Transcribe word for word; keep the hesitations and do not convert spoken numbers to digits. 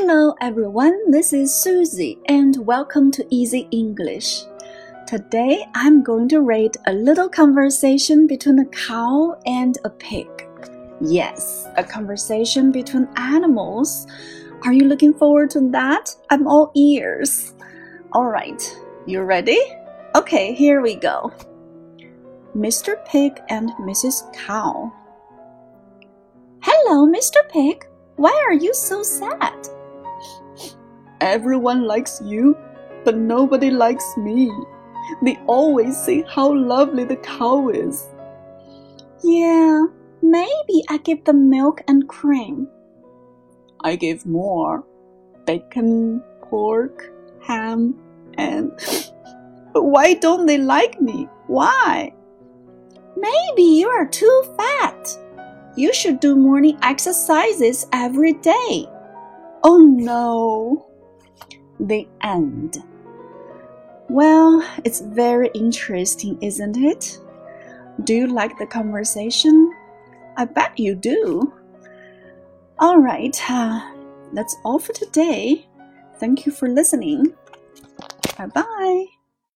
Hello everyone, this is Susie and welcome to Easy English. Today I'm going to read a little conversation between a cow and a pig. Yes, a conversation between animals. Are you looking forward to that? I'm all ears. Alright, you ready? Okay, here we go. Mister Pig and Missus Cow. Hello, Mister Pig. Why are you so sad? Everyone likes you, but nobody likes me. They always say how lovely the cow is. Yeah, maybe I give them milk and cream. I give more. Bacon, pork, ham, and... But why don't they like me? Why? Maybe you are too fat. You should do morning exercises every day. Oh no. The end. Well, it's very interesting, isn't it? Do you like the conversation? I bet you do. All right, uh, that's all for today. Thank you for listening. Bye-bye.